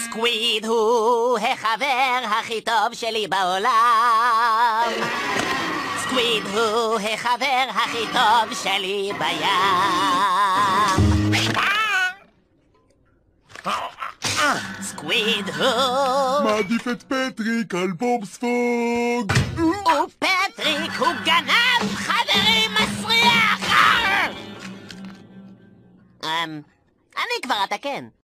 סקוויד הוא החבר הכי טוב שלי בעולם. סקוויד הוא החבר הכי טוב שלי בים. סקוויד הוא... מעדיף את פטריק על בובספוג. ופטריק הוא גנב, חברים, מסריח! אני כבר אתקן.